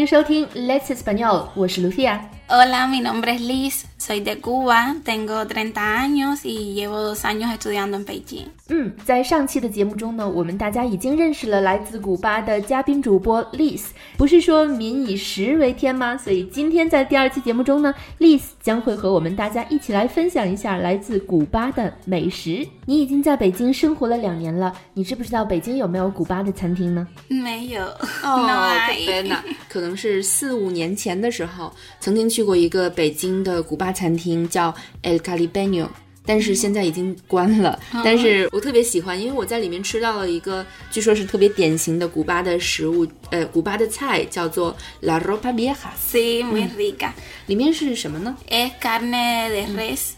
收听 Let's Español， 我是 Lucia。Hola, mi nombre es Liz, soy de Cuba, tengo 30 años y llevo 2 años estudiando en Beijing. 在上期的节目中呢，我们大家已经认识了来自古巴的嘉宾主播 Liz。不是说民以食为天吗？所以今天在第2期节目中呢 ，Liz 将会和我们大家一起来分享一下来自古巴的美食。你已经在北京生活了2年了，你知不知道北京有没有古巴的餐厅呢？ 没有。 可能是4-5年前的时候，曾经去过一个北京的古巴餐厅，叫 El Caribeño， 但是现在已经关了。但是我特别喜欢，因为我在里面吃到了一个据说是特别典型的古巴的食物，古巴的菜叫做 La Ropa Vieja。 Sí, muy rica。 里面是什么呢？ Es carne de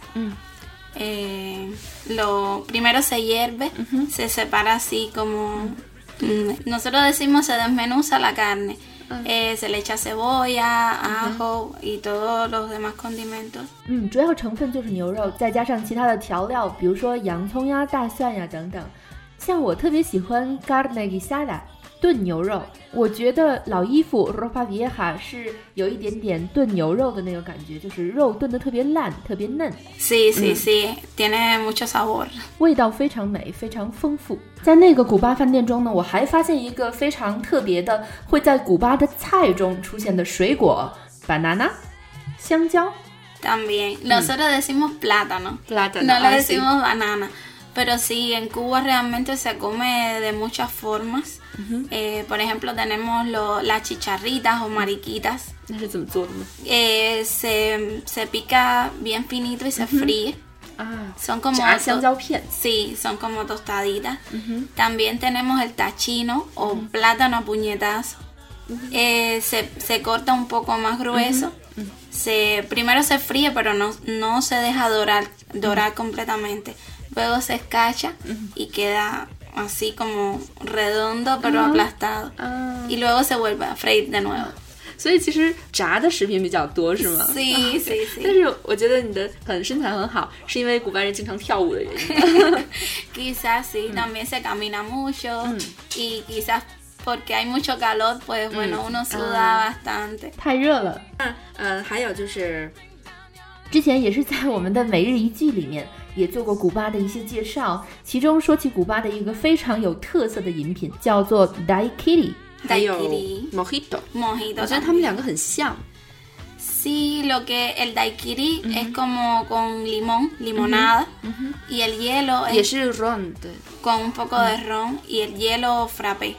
res。Lo primero se hierve, se separa así como nosotros decimos se desmenuza la carne. Se le echa cebolla, ajo y todos los demás condimentos. 主要成分就是牛肉，再加上其他的调料，比如说洋葱呀、大蒜呀等等。像我特别喜欢 carne guisada 炖牛肉，我觉得老衣服 ropa vieja 是有一点点炖牛肉的那个感觉，就是肉炖得特别烂，特别嫩。 Sí, tiene mucho sabor。 味道非常美，非常丰富。在那个古巴饭店中呢，我还发现一个非常特别的，会在古巴的菜中出现的水果 banana 香蕉。 También, nosotros decimos plátano, no le decimos banana. Pero sí, en Cuba realmente se come de muchas formas. Por ejemplo, tenemos las chicharritas o mariquitas. 那是怎么做的呢？ Se pica bien finito y se fríe. Son como 炸香蕉片。 Sí, son como tostaditas. También tenemos el tachino o plátano a puñetazo. Se corta un poco más grueso. Primero se fríe, pero no se deja dorar completamente. Luego se escacha y queda así como redondo pero aplastado. Y luego se vuelve a freír de nuevo. 所以其实炸的食品比较多是吗？ Sí. 但是我觉得你的身材很好，是因为古巴人经常跳舞的原因。 Quizás sí, también se camina mucho y quizás porque hay mucho calor, pues bueno, uno suda bastante. 太热了。 还有就是之前也是在我们的每日一句里面也做过古巴的一些介绍，其中说起古巴的一个非常有特色的饮品叫做 daiquiri， 还有 mojito， 我觉得他们两个很像。 Sí, lo que el daiquiri es como con limón, limonada, y el hielo es 也是 ron 的 con un poco de ron y el hielo frappé.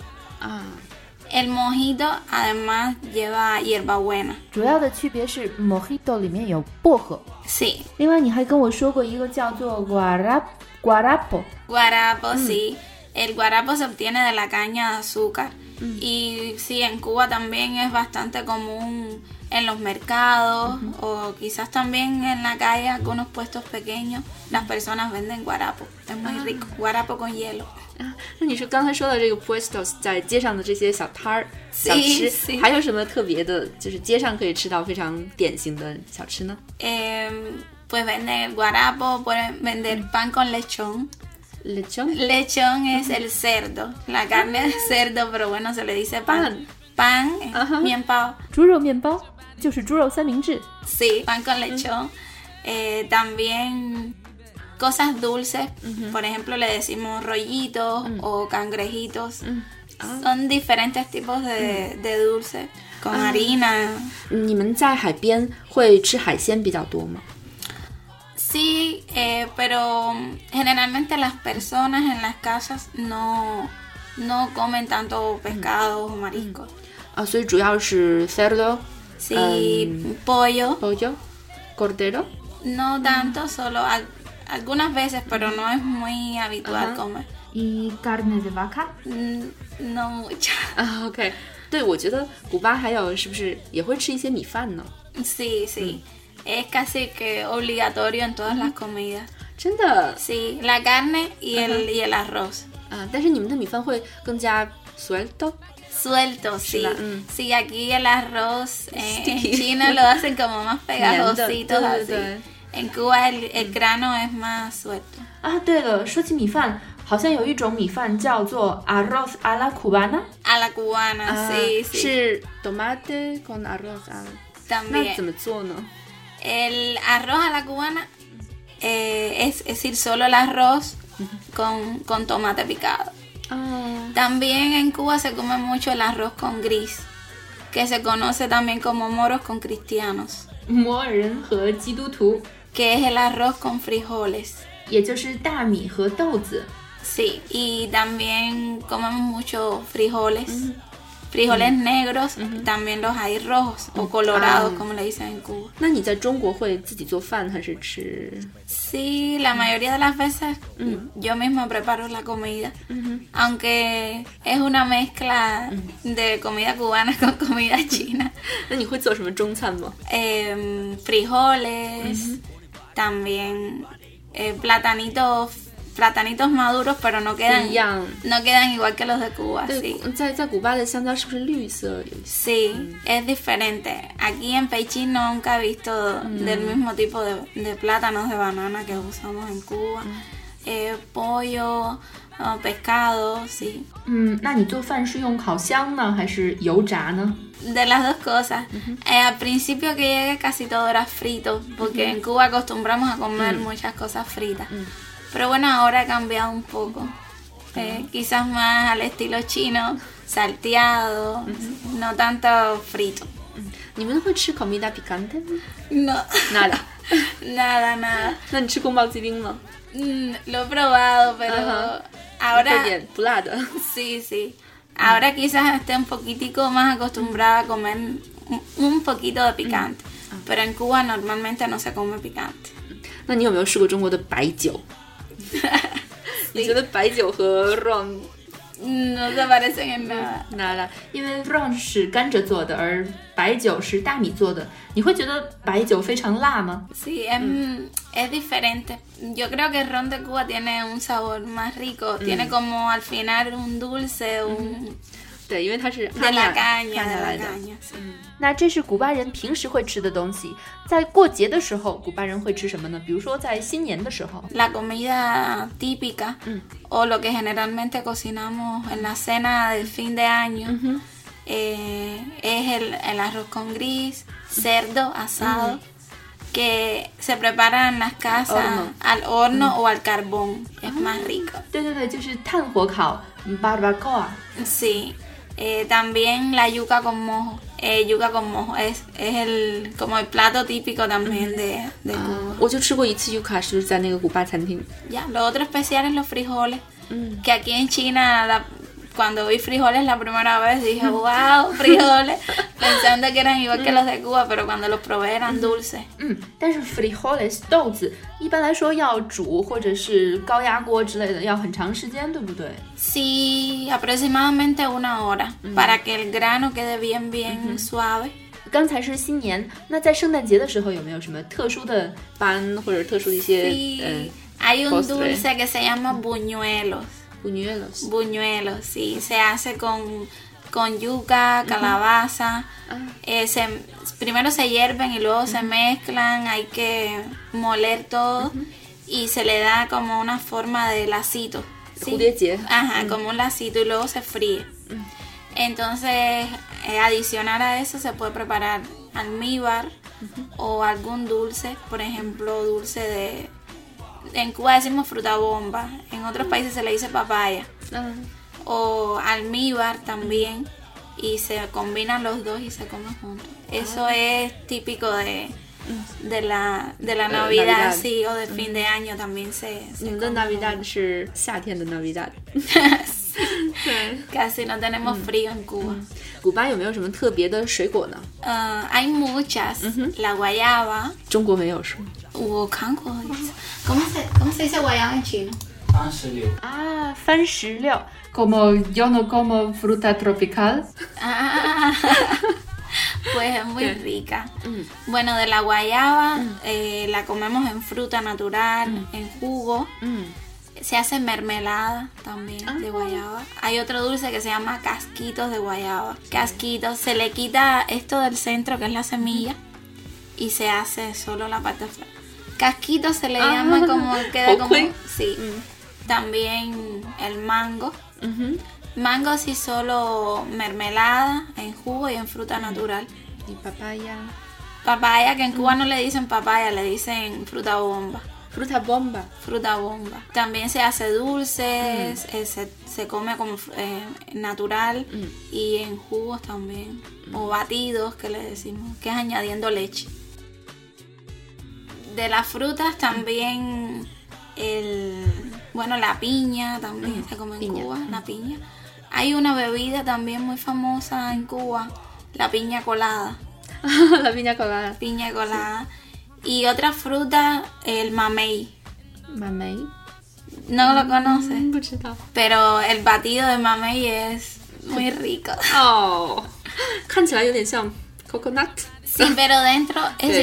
El mojito además lleva hierbabuena。 主要的区别是 mojito 里面有薄荷。 Sí。 另外你还跟我说过一个叫做 guarapo。 Guarapo, sí. El guarapo se obtiene de la caña de azúcar. Y sí, en Cuba también es bastante común en los mercados o quizás también en la calle, algunos puestos pequeños, las personas venden guarapo. Es muy rico, guarapo con hielo。 那你说刚才说的这个 puestos 在街上的这些小摊儿小吃，还有什么特别的，就是街上可以吃到非常典型的小吃呢？ Pues venden el guarapo, pueden vender pan con lechón. ¿Lechón? Lechón es el cerdo, la carne de cerdo, pero bueno, se le dice pan. Pan, 面包。 猪肉面包就是猪肉三明治。 Sí, pan con lechón. También cosas dulces, por ejemplo le decimos rollitos o cangrejitos. Son diferentes tipos de dulces con harina. 你们在海边会吃海鲜比较多吗？ Sí, pero generalmente las personas en las casas no comen tanto pescados o mariscos. 所以主要是 cerdo, sí, pollo, cordero. No tanto, solo algunas veces, pero no es muy habitual comer. ¿Y carne de vaca? No mucho. OK， 对，我觉得古巴还有是不是也会吃一些米饭呢？ Sí. Es casi que obligatorio en todas las comidas. 真的 Sí, la carne y el arroz. 但是你们的米饭会更加 suelto, sí. Sí, aquí el arroz en China lo hacen como más pegajositos así. En Cuba el grano es más suelto. 对了，说起米饭， 好像有一种米饭叫做 arroz a la cubana。 A la cubana, sí, sí. 是 tomate con arroz a la... También. 那怎么做呢？ El arroz a la cubana es decir, solo el arroz con tomate picado. También en Cuba se come mucho el arroz con gris, que se conoce también como moros con cristianos. 摩尔人和基督徒 Que es el arroz con frijoles. 也就是大米和豆子。 Sí, y también comemos mucho frijoles. Frijoles negros, también los hay rojos o colorados, como le dicen en Cuba. 那你在中国会自己做饭还是吃？ Sí, la mayoría de las veces yo misma preparo la comida, aunque es una mezcla de comida cubana con comida china. 那你会做什么中餐吗？ Frijoles, también platanitos maduros, pero no quedan igual que los de Cuba. 对， Sí. 在古巴的香蕉是不是绿色？ Sí, es diferente. Aquí en Pekín nunca he visto del mismo tipo de plátanos de banana que usamos en Cuba. Pollo, pescado, sí. 那你做饭是用烤箱呢，还是油炸呢？ De las dos cosas. Al principio que llegué casi todo era frito, porque en Cuba acostumbramos a comer muchas cosas fritas. Pero bueno, ahora he cambiado un poco. Quizás más al estilo chino, salteado, no tanto frito. 你们会吃 comida picante 吗？ No, nada. nada. 那你吃宫保鸡丁吗？ Lo he probado, pero ahora... 会点不辣的。 Sí. Ahora quizás esté un poquitico más acostumbrada a comer un poquito de picante. Pero en Cuba normalmente no se come picante. 那你有没有试过中国的白酒？ 你觉得白酒和 ron No se parecen en nada. nada，因为 ron 是甘蔗做的，而白酒是大米做的。你会觉得白酒非常辣吗？ Sí, es diferente. Yo creo que el ron de Cuba tiene un sabor más rico. Tiene como al final un dulce, 对，因为它是 de la caña, 下 de 来 la 的。 caña. Sí. 那这是古巴人平时会吃的东西。在过节的时候，古巴人会吃什么呢？比如说在新年的时候。 La comida típica o lo que generalmente cocinamos en la cena del fin de año es el arroz con gris, cerdo asado, que se prepara en las casas al horno o al carbón. Es más rico. 对，就是炭火烤 barbacoa。 Sí. También la yuca con mojo. Yuca con mojo es como el plato típico también de Cuba. 我就吃过一次 yuca， 是在那个古巴餐厅。 Ya, lo otro especial es los frijoles. Que aquí en China, cuando vi frijoles la primera vez dije, wow, frijoles. Pensando que eran igual que los de Cuba, pero cuando los probé eran dulces. 但是 frijoles 豆子一般来说要煮或者是高压锅之类的，要很长时间，对不对？ Sí, aproximadamente 1 hora para que el grano quede bien suave. 刚才是新年，那在圣诞节的时候有没有什么特殊的班或者特殊的一些 Sí, hay un postre. dulce que se llama buñuelos. buñuelos？ Buñuelos, sí, se hace con yuca, calabaza. Primero se hierven y luego se mezclan, hay que moler todo y se le da como una forma de lacito. ¿sí? 蝴蝶结。 Ajá, como un lacito y luego se fríe. Entonces, adicional a eso se puede preparar almíbar o algún dulce, por ejemplo, dulce de... En Cuba decimos fruta bomba, en otros países se le dice papaya. O almíbar también, y se combinan los dos y se comen juntos. Eso es típico de la Navidad, sí, o de fin de año también se 你们的 Navidad 是夏天的 Navidad。 Casi no tenemos frío en Cuba. 古巴有没有什么特别的水果呢？ Hay muchas. La guayaba. 中国没有是吗？ ¿Cómo se dice guayaba en chino? 啊，番石榴 como yo no como fruta tropical。 Pues es muy rica. Bueno, de la guayaba la comemos en fruta natural, en jugo. Se hace mermelada también de guayaba. Hay otro dulce que se llama casquitos de guayaba. Casquitos, se le quita esto del centro que es la semilla y se hace solo la parte afuera. Casquitos se le llama como queda como... Sí. También el mango. Mango sí solo mermelada, en jugo y en fruta natural. ¿Y papaya? Papaya, que en Cuba no le dicen papaya, le dicen fruta bomba. Fruta bomba. Fruta bomba. También se hace dulce, se come como natural y en jugos también. O batidos, que le decimos, que es añadiendo leche. De las frutas también la piña también se come en Cuba, la piña. Hay una bebida también muy famosa en Cuba, la piña colada. La piña colada. Piña colada. Sí. Y otra fruta, el mamey. ¿Mamey? ¿No lo conoces? No. Pero el batido de mamey es muy rico. Oh, 看起来有点像 coconut. Sí, pero dentro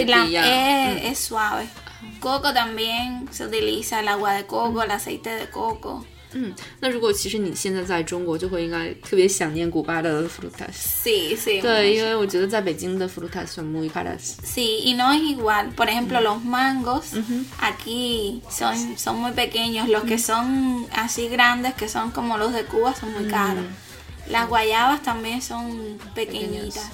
es suave. Coco también se utiliza, el agua de coco, el aceite de coco. 那如果其实你现在在中国，就会应该特别想念古巴的 frutas. Sí, sí. 对，因为我觉得在北京的 frutas son muy caras. Sí, y no es igual. Por ejemplo, los mangos aquí son muy pequeños. Los que son así grandes, que son como los de Cuba, son muy caros. Las guayabas también son pequeñitas.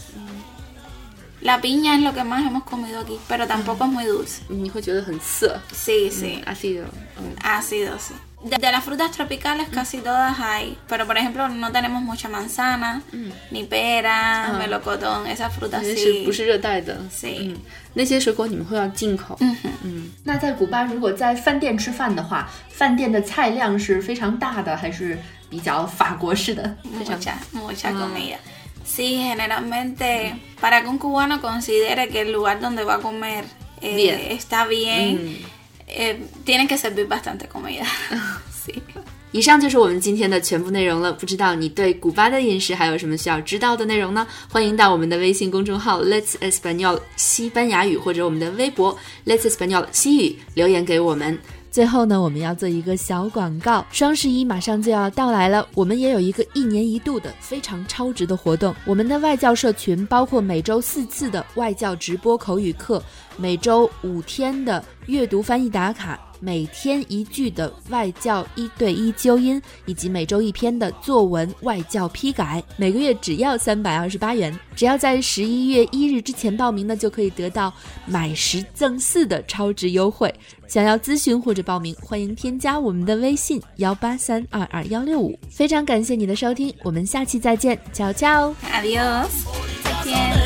La piña es lo que más hemos comido aquí, pero tampoco es muy dulce. 你会觉得很涩. Sí, sí. Ácido. Ácido, sí. De las frutas tropicales casi todas hay, pero por ejemplo no tenemos mucha manzana, ni pera, melocotón, esas frutas sí. 不是热带的. Sí. 那些水果你们会要进口. 那在古巴如果在饭店吃饭的话，饭店的菜量是非常大的，还是比较法国式的？ Mucha comida. Sí, generalmente para que un cubano considere que el lugar donde va a comer está bien, tienen que servir bastante comida. Sí. 以上就是我们今天的全部内容了。不知道你对古巴的饮食还有什么需要知道的内容呢？欢迎到我们的微信公众号 Let's Español 西班牙语，或者我们的微博 Let's Español 西语留言给我们。最后呢，我们要做一个小广告，双11马上就要到来了，我们也有一个1年1度的非常超值的活动。我们的外教社群包括每周4次的外教直播口语课，每周5天的阅读翻译打卡，每天1句的外教1对1纠音，以及每周1篇的作文外教批改，每个月只要328元。只要在11月1日之前报名呢，就可以得到买10赠4的超值优惠。想要咨询或者报名，欢迎添加我们的微信183222165。非常感谢你的收听，我们下期再见，ciao ciao， adiós，再见。